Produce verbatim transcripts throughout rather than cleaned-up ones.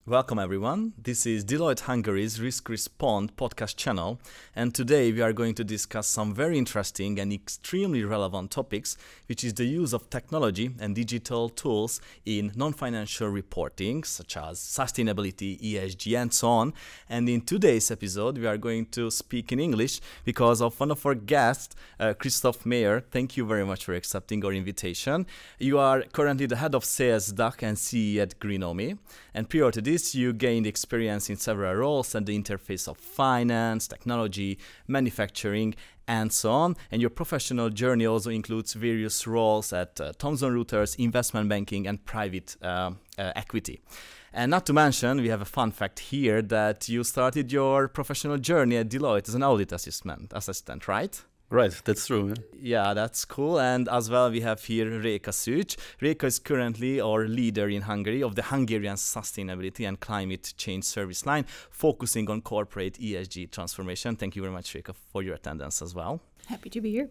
Welcome everyone. This is Deloitte Hungary's Risk Respond podcast channel, and today we are going to discuss some very interesting and extremely relevant topics, which is the use of technology and digital tools in non-financial reporting, such as sustainability, E S G, and so on. And in today's episode, we are going to speak in English because of one of our guests, uh, Christoph Mayer. Thank you very much for accepting our invitation. You are currently the head of sales D A C and C E at Greenomi, and prior to this, you gained experience in several roles at the interface of finance, technology, manufacturing, and so on. And your professional journey also includes various roles at uh, Thomson Reuters, investment banking, and private uh, uh, equity. And not to mention, we have a fun fact here that you started your professional journey at Deloitte as an audit assistant, assistant, right? Right, that's true. Yeah. Yeah, that's cool. And as well, we have here Réka Szűcs. Réka is currently our leader in Hungary of the Hungarian Sustainability and Climate Change Service Line, focusing on corporate E S G transformation. Thank you very much, Réka, for your attendance as well. Happy to be here.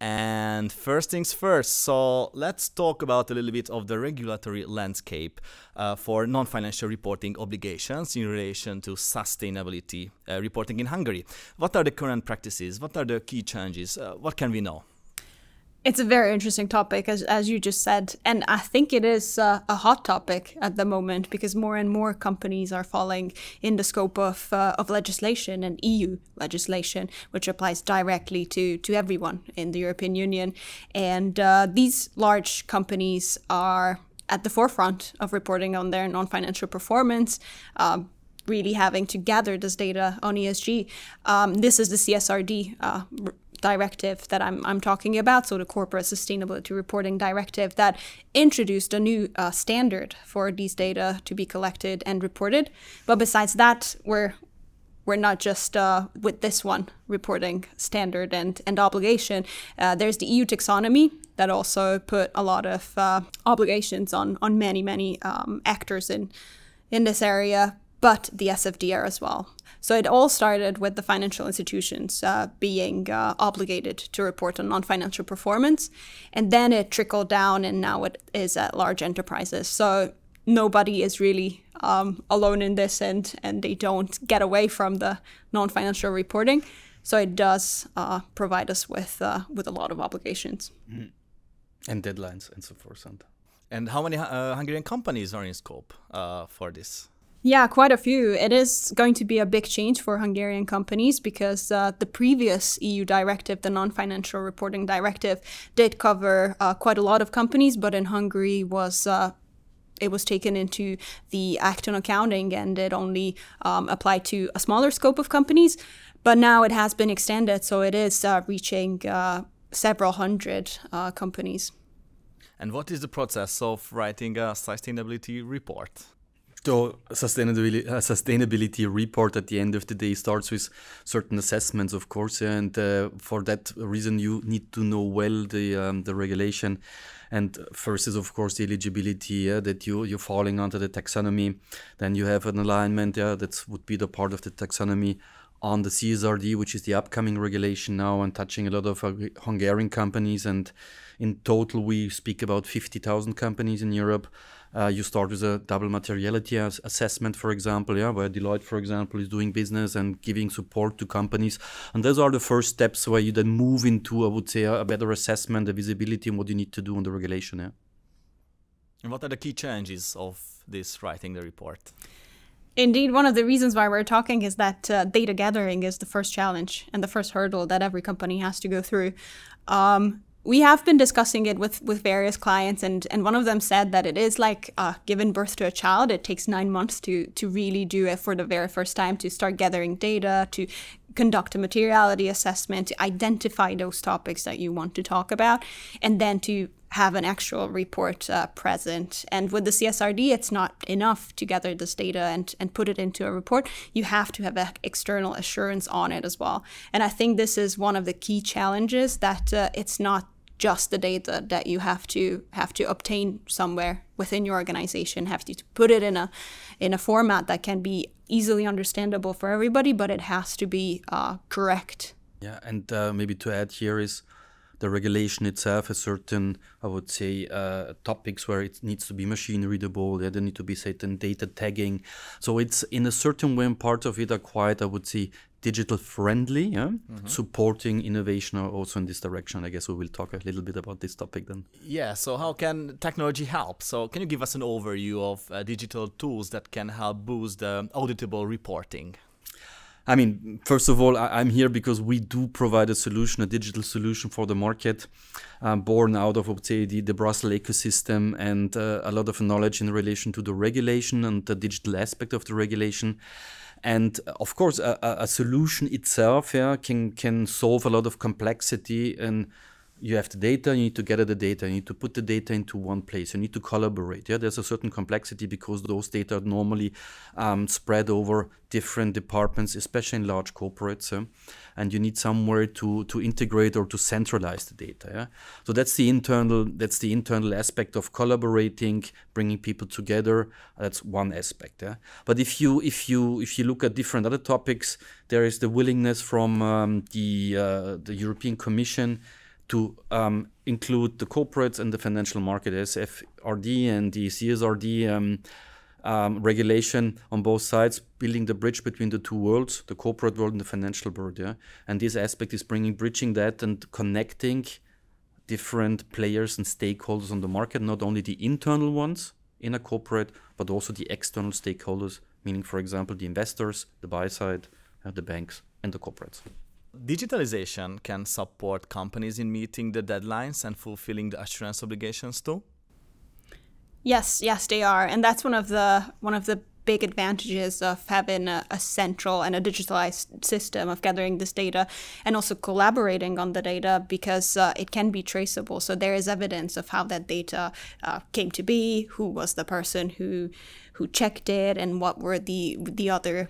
And first things first, so let's talk about a little bit of the regulatory landscape uh, for non-financial reporting obligations in relation to sustainability uh, reporting in Hungary. What are the current practices? What are the key changes? Uh, what can we know? It's a very interesting topic, as as you just said, and I think it is uh, a hot topic at the moment because more and more companies are falling in the scope of uh, of legislation and E U legislation, which applies directly to to everyone in the European Union. And uh, these large companies are at the forefront of reporting on their non-financial performance. Um, really having to gather this data on E S G. Um, this is the C S R D uh, directive that I'm I'm talking about, so the Corporate Sustainability Reporting Directive that introduced a new uh, standard for these data to be collected and reported. But besides that, we're we're not just uh, with this one reporting standard and, and obligation. Uh, there's the E U taxonomy that also put a lot of uh, obligations on on many, many um, actors in in this area, but the S F D R as well. So it all started with the financial institutions uh, being uh, obligated to report on non-financial performance, and then it trickled down, and now it is at large enterprises. So nobody is really um, alone in this, and, and they don't get away from the non-financial reporting. So it does uh, provide us with uh, with a lot of obligations. Mm. And deadlines and so forth. And, and how many uh, Hungarian companies are in scope uh, for this? Yeah, quite a few. It is going to be a big change for Hungarian companies because uh, the previous E U directive, the Non-Financial Reporting Directive, did cover uh, quite a lot of companies, but in Hungary was uh, it was taken into the Act on Accounting, and it only um, applied to a smaller scope of companies. But now it has been extended, so it is uh, reaching uh, several hundred uh, companies. And what is the process of writing a sustainability report? So sustainability, uh, sustainability report at the end of the day starts with certain assessments, of course, and uh, for that reason you need to know well the um, the regulation. And first is, of course, the eligibility, yeah, that you, you're falling under the taxonomy. Then you have an alignment, yeah, that would be the part of the taxonomy on the C S R D, which is the upcoming regulation now and touching a lot of uh, Hungarian companies. And in total, we speak about fifty thousand companies in Europe. Uh, you start with a double materiality as assessment, for example, yeah, where Deloitte, for example, is doing business and giving support to companies. And those are the first steps where you then move into, I would say, a, a better assessment, the visibility, and what you need to do on the regulation. Yeah. And what are the key changes of this writing the report? Indeed, one of the reasons why we're talking is that uh, data gathering is the first challenge and the first hurdle that every company has to go through. Um, we have been discussing it with, with various clients, and, and one of them said that it is like uh, giving birth to a child. It takes nine months to, to really do it for the very first time, to start gathering data, to conduct a materiality assessment, to identify those topics that you want to talk about, and then to have an actual report uh, present. And with the C S R D, it's not enough to gather this data and, and put it into a report. You have to have an external assurance on it as well. And I think this is one of the key challenges, that uh, it's not just the data that you have to have to obtain somewhere within your organization, have to put it in a in a format that can be easily understandable for everybody, but it has to be uh, correct. Yeah, and uh, maybe to add here is the regulation itself has certain, I would say, uh, topics where it needs to be machine readable. Yeah, there need to be certain data tagging. So it's in a certain way, part of it are quite, I would say, digital friendly, yeah? Mm-hmm. Supporting innovation also in this direction. I guess we will talk a little bit about this topic then. Yeah, so how can technology help? So can you give us an overview of uh, digital tools that can help boost the auditable reporting? I mean, first of all, I, I'm here because we do provide a solution, a digital solution for the market, um, born out of, I would say, the, the Brussels ecosystem and uh, a lot of knowledge in relation to the regulation and the digital aspect of the regulation. And of course, a, a solution itself yeah, can, can solve a lot of complexity. And you have the data, you need to gather the data, you need to put the data into one place, you need to collaborate. Yeah, there's a certain complexity because those data are normally um, spread over different departments, especially in large corporates. Yeah? And you need somewhere to, to integrate or to centralize the data. Yeah? So that's the internal that's the internal aspect of collaborating, bringing people together. That's one aspect. Yeah? But if you if you if you look at different other topics, there is the willingness from um, the uh, the European Commission to um, include the corporates and the financial market, S F R D and the C S R D um, um, regulation on both sides, building the bridge between the two worlds, the corporate world and the financial world. Yeah? And this aspect is bringing, bridging that and connecting different players and stakeholders on the market, not only the internal ones in a corporate, but also the external stakeholders, meaning, for example, the investors, the buy side, uh, the banks, and the corporates. Digitalization can support companies in meeting the deadlines and fulfilling the assurance obligations too? Yes, yes, they are. And that's one of the one of the big advantages of having a, a central and a digitalized system of gathering this data and also collaborating on the data because uh, it can be traceable. So there is evidence of how that data uh, came to be, who was the person who who checked it, and what were the the other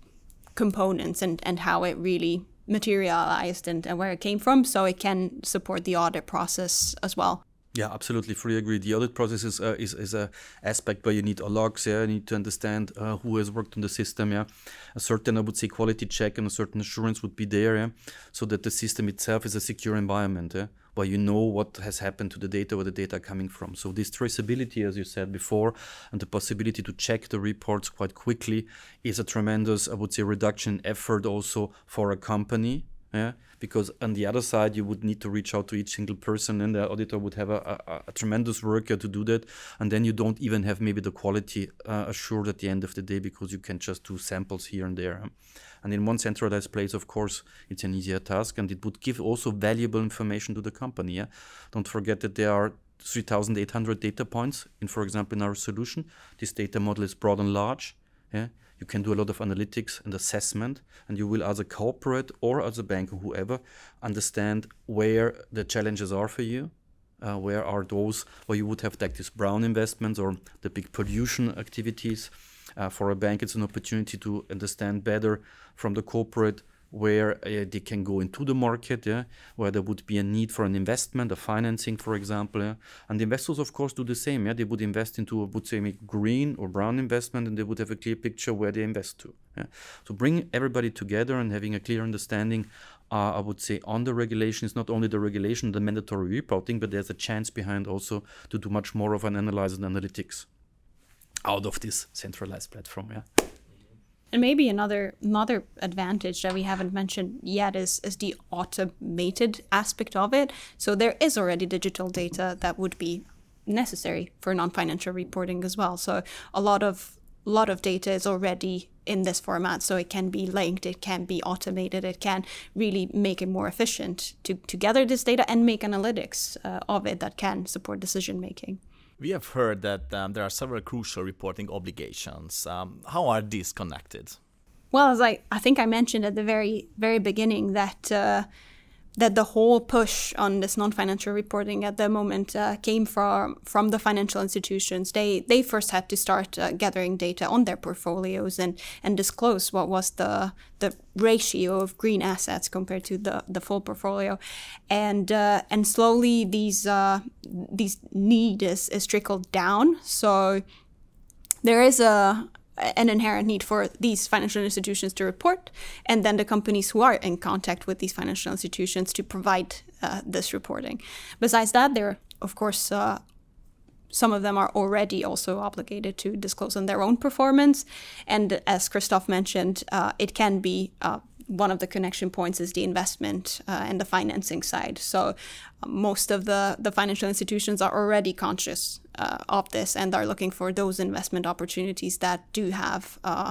components and, and how it really materialized and, and where it came from, so it can support the audit process as well. Yeah, absolutely, fully agree. The audit process is uh, is, is a aspect where you need a logs, yeah, you need to understand uh, who has worked on the system, yeah. A certain, I would say, quality check and a certain assurance would be there, yeah, so that the system itself is a secure environment, yeah, where you know what has happened to the data, where the data are coming from. So this traceability, as you said before, and the possibility to check the reports quite quickly is a tremendous, I would say, reduction in effort also for a company. Yeah, because on the other side, you would need to reach out to each single person, and the auditor would have a, a, a tremendous work to do that. And then you don't even have maybe the quality uh, assured at the end of the day because you can just do samples here and there. And in one centralized place, of course, it's an easier task, and it would give also valuable information to the company. Yeah? Don't forget that there are three thousand eight hundred data points in, for example, in our solution. This data model is broad and large. Yeah? You can do a lot of analytics and assessment, and you will, as a corporate or as a bank or whoever, understand where the challenges are for you, uh, where are those where you would have like these brown investments or the big pollution activities. Uh, for a bank, it's an opportunity to understand better from the corporate where uh, they can go into the market, yeah, where there would be a need for an investment, a financing, for example. Yeah? And the investors, of course, do the same. Yeah? They would invest into, I would say, green or brown investment, and they would have a clear picture where they invest to. Yeah? So bring everybody together and having a clear understanding, uh, I would say, on the regulation is not only the regulation, the mandatory reporting, but there's a chance behind also to do much more of an analysis and analytics out of this centralized platform. Yeah. And maybe another another advantage that we haven't mentioned yet is, is the automated aspect of it. So there is already digital data that would be necessary for non-financial reporting as well. So a lot of lot of data is already in this format, so it can be linked, it can be automated, it can really make it more efficient to, to gather this data and make analytics uh, of it that can support decision making. We have heard that um, there are several crucial reporting obligations. Um, how are these connected? Well, as I, I think I mentioned at the very, very beginning that uh, that the whole push on this non-financial reporting at the moment uh, came from from the financial institutions. They they first had to start uh, gathering data on their portfolios and and disclose what was the the ratio of green assets compared to the, the full portfolio, and uh, and slowly these uh, these need is, is trickled down. So there is a an inherent need for these financial institutions to report, and then the companies who are in contact with these financial institutions to provide uh, this reporting. Besides that, there, of course, uh, some of them are already also obligated to disclose on their own performance. And as Christoph mentioned, uh, it can be uh, one of the connection points is the investment uh, and the financing side. So uh, most of the, the financial institutions are already conscious uh, of this and are looking for those investment opportunities that do have uh,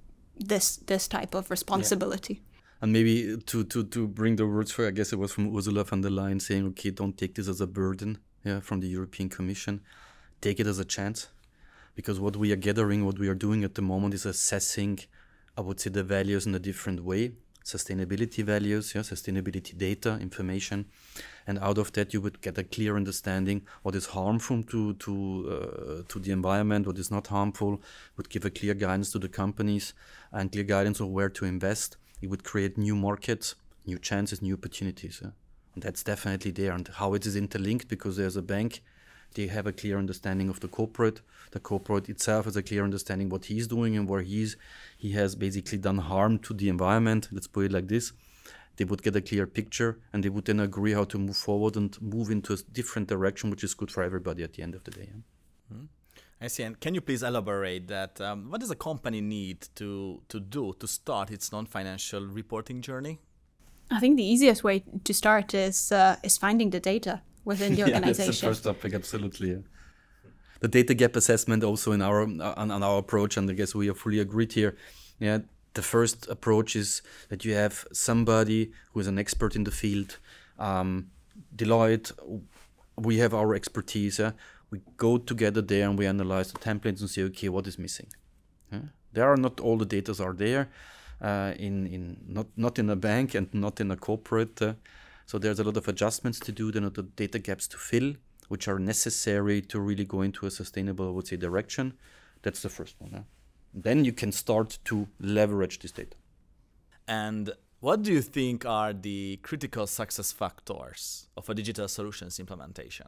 this this type of responsibility. Yeah. And maybe to, to, to bring the words for, I guess it was from Ursula von der Leyen saying, okay, don't take this as a burden yeah, from the European Commission. Take it as a chance. Because what we are gathering, what we are doing at the moment is assessing, I would say, the values in a different way. Sustainability values, yeah, sustainability data, information. And out of that, you would get a clear understanding what is harmful to to uh, to the environment, what is not harmful, would give a clear guidance to the companies and clear guidance of where to invest. It would create new markets, new chances, new opportunities. Yeah? And that's definitely there. And how it is interlinked, because there's a bank, they have a clear understanding of the corporate. The corporate itself has a clear understanding what he's doing and where he's he has basically done harm to the environment. Let's put it like this. They would get a clear picture and they would then agree how to move forward and move into a different direction, which is good for everybody at the end of the day. Yeah? Mm-hmm. I see. And can you please elaborate that? Um, what does a company need to, to do to start its non-financial reporting journey? I think the easiest way to start is uh, is finding the data within the organization. Yeah, that's the first topic, absolutely. Yeah. The data gap assessment also in our on, on our approach, and I guess we are fully agreed here. Yeah, the first approach is that you have somebody who is an expert in the field. Um, Deloitte, we have our expertise. Yeah? We go together there and we analyze the templates and say, okay, what is missing? Yeah? There are not all the data are there uh, in in not not in a bank and not in a corporate. Uh, so there's a lot of adjustments to do. There are the data gaps to fill, which are necessary to really go into a sustainable, I would say, direction. That's the first one. Huh? Then you can start to leverage this data. And what do you think are the critical success factors of a digital solutions implementation?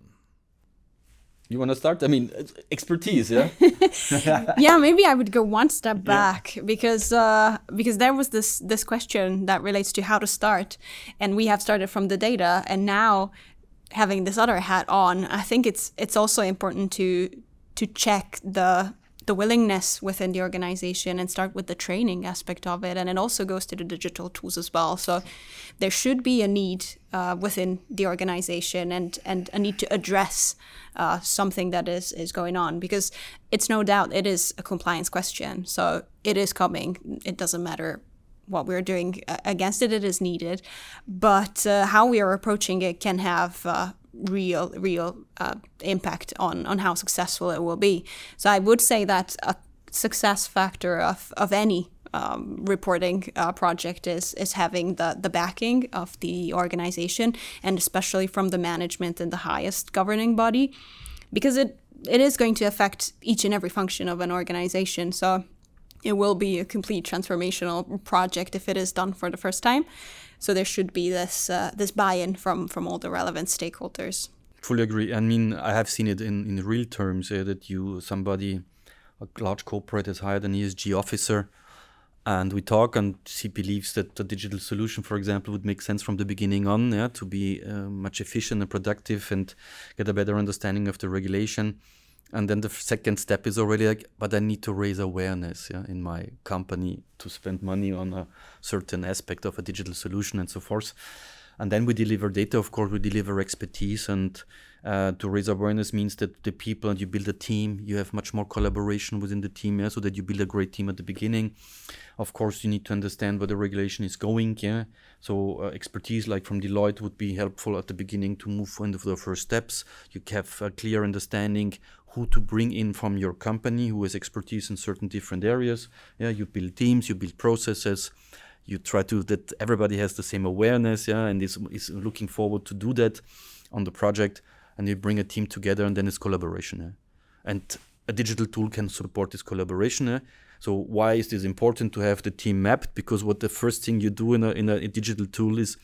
You want to start? I mean, expertise, yeah? Yeah, maybe I would go one step back yeah. because uh, because there was this this question that relates to how to start. And we have started from the data, and now having this other hat on, I think it's it's also important to to check the the willingness within the organization and start with the training aspect of it. And it also goes to the digital tools as well. So there should be a need uh, within the organization and, and a need to address uh, something that is, is going on, because it's no doubt it is a compliance question. So it is coming. It doesn't matter what we're doing against it, it is needed. But uh, how we are approaching it can have uh, real, real uh, impact on, on how successful it will be. So I would say that a success factor of, of any um, reporting uh, project is is having the, the backing of the organization, and especially from the management and the highest governing body, because it it is going to affect each and every function of an organization. So it will be a complete transformational project if it is done for the first time. So there should be this uh, this buy-in from, from all the relevant stakeholders. Fully agree. I mean, I have seen it in, in real terms uh, that you somebody, a large corporate has hired an E S G officer, and we talk, and she believes that the digital solution, for example, would make sense from the beginning on, yeah, to be uh, much efficient and productive and get a better understanding of the regulation. And then the second step is already like, but I need to raise awareness yeah, in my company to spend money on a certain aspect of a digital solution and so forth. And then we deliver data, of course, we deliver expertise. And uh, to raise awareness means that the people, and you build a team, you have much more collaboration within the team, yeah, so that you build a great team at the beginning. Of course, you need to understand where the regulation is going. Yeah, so uh, expertise like from Deloitte would be helpful at the beginning to move into the first steps. You have a clear understanding who to bring in from your company, who has expertise in certain different areas. Yeah, you build teams, you build processes, you try to that everybody has the same awareness, yeah, and is is looking forward to do that on the project, and you bring a team together, and then it's collaboration. Yeah? And a digital tool can support this collaboration. Yeah? So why is this important to have the team mapped? Because what the first thing you do in a in a, a digital tool is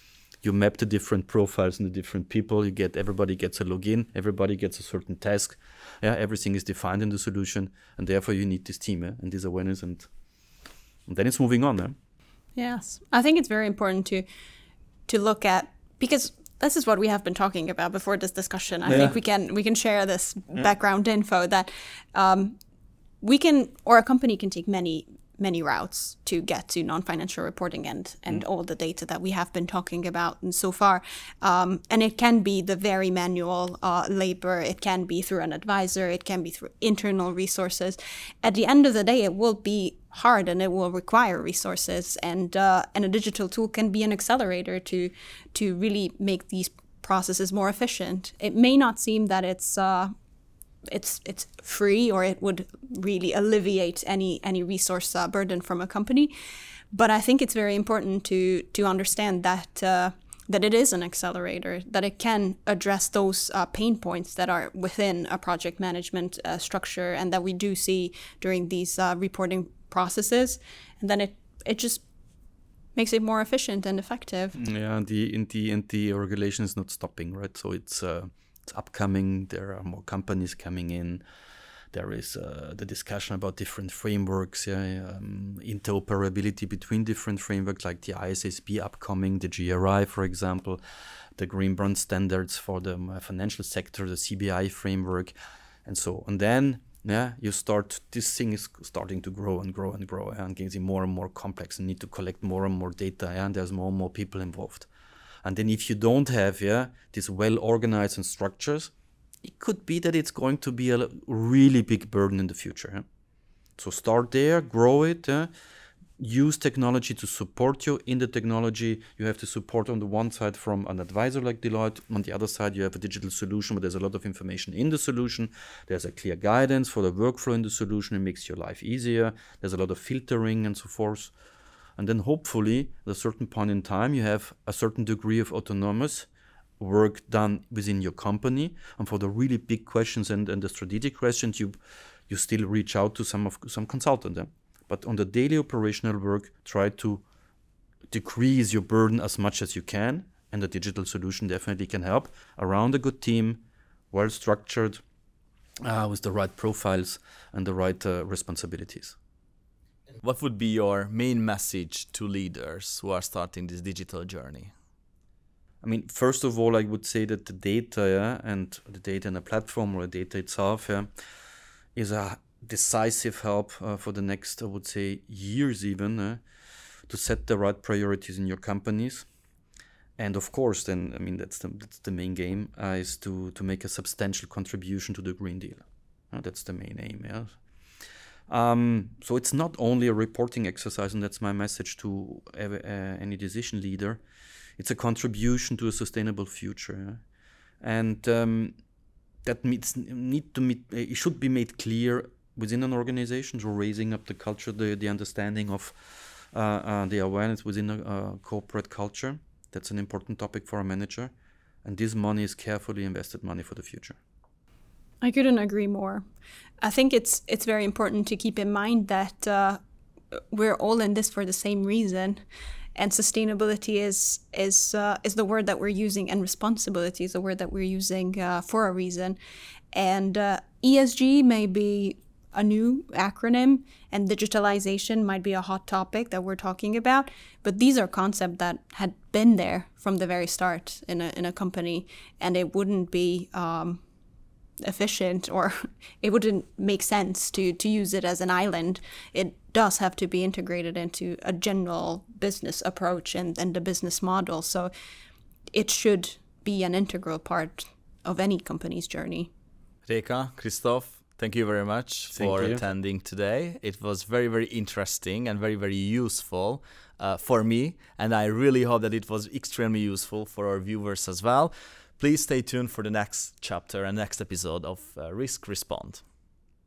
you map the different profiles and the different people. You get everybody gets a login, everybody gets a certain task. Yeah, everything is defined in the solution, and therefore you need this team eh? and this awareness, and, and then it's moving on. Eh? Yes, I think it's very important to to look at, because this is what we have been talking about before this discussion. I yeah. think we can we can share this yeah. background info that um, we can, or a company can take many many routes to get to non-financial reporting and and mm. all the data that we have been talking about and so far. Um, and it can be the very manual uh, labor. It can be through an advisor. It can be through internal resources. At the end of the day, it will be hard and it will require resources. And uh, and a digital tool can be an accelerator to to really make these processes more efficient. It may not seem that it's uh, it's it's free, or it would really alleviate any any resource uh, burden from a company, but I think it's very important to to understand that uh, that it is an accelerator, that it can address those uh, pain points that are within a project management uh, structure and that we do see during these uh, reporting processes, and then it it just makes it more efficient and effective. Yeah, the in the and the regulation is not stopping, right? So it's uh, it's upcoming. There are more companies coming in. There is uh, the discussion about different frameworks, yeah, um, interoperability between different frameworks, like the I S S B upcoming, the G R I, for example, the Green Bond standards for the uh, financial sector, the C B I framework, and so. And then, yeah, you start. This thing is starting to grow and grow and grow, yeah, and getting more and more complex, and need to collect more and more data, yeah, and there's more and more people involved. And then, if you don't have, yeah, these well organized and structures, it could be that it's going to be a really big burden in the future. Yeah? So start there, grow it, yeah? Use technology to support you. In the technology, you have to support on the one side from an advisor like Deloitte. On the other side, you have a digital solution, but there's a lot of information in the solution. There's a clear guidance for the workflow in the solution. It makes your life easier. There's a lot of filtering and so forth. And then hopefully, at a certain point in time, you have a certain degree of autonomous work done within your company, and for the really big questions and, and the strategic questions, you you still reach out to some of some consultant. Yeah? But on the daily operational work, try to decrease your burden as much as you can, and the digital solution definitely can help around a good team, well structured, uh, with the right profiles and the right uh, responsibilities. What would be your main message to leaders who are starting this digital journey? I mean, first of all, I would say that the data, yeah, and the data in the platform or the data itself, yeah, is a decisive help uh, for the next, I would say, years even, uh, to set the right priorities in your companies. And of course, then, I mean, that's the that's the main game, uh, is to, to make a substantial contribution to the Green Deal. Uh, that's the main aim, yeah. Um, so it's not only a reporting exercise, and that's my message to every, uh, any decision leader. It's a contribution to a sustainable future, yeah? And um, that means need to meet. It should be made clear within an organization, so raising up the culture, the the understanding of uh, uh, the awareness within a uh, corporate culture. That's an important topic for a manager, and this money is carefully invested money for the future. I couldn't agree more. I think it's it's very important to keep in mind that uh, we're all in this for the same reason. And sustainability is is uh, is the word that we're using, and responsibility is the word that we're using uh, for a reason. And uh, E S G may be a new acronym, and digitalization might be a hot topic that we're talking about. But these are concepts that had been there from the very start in a in a company, and it wouldn't be um, efficient, or it wouldn't make sense to to use it as an island. It does have to be integrated into a general business approach and, and the business model. So it should be an integral part of any company's journey. Réka, Christoph, thank you very much Thank for you. attending today. It was very, very interesting and very, very useful uh, for me. And I really hope that it was extremely useful for our viewers as well. Please stay tuned for the next chapter and next episode of uh, Risk Respond.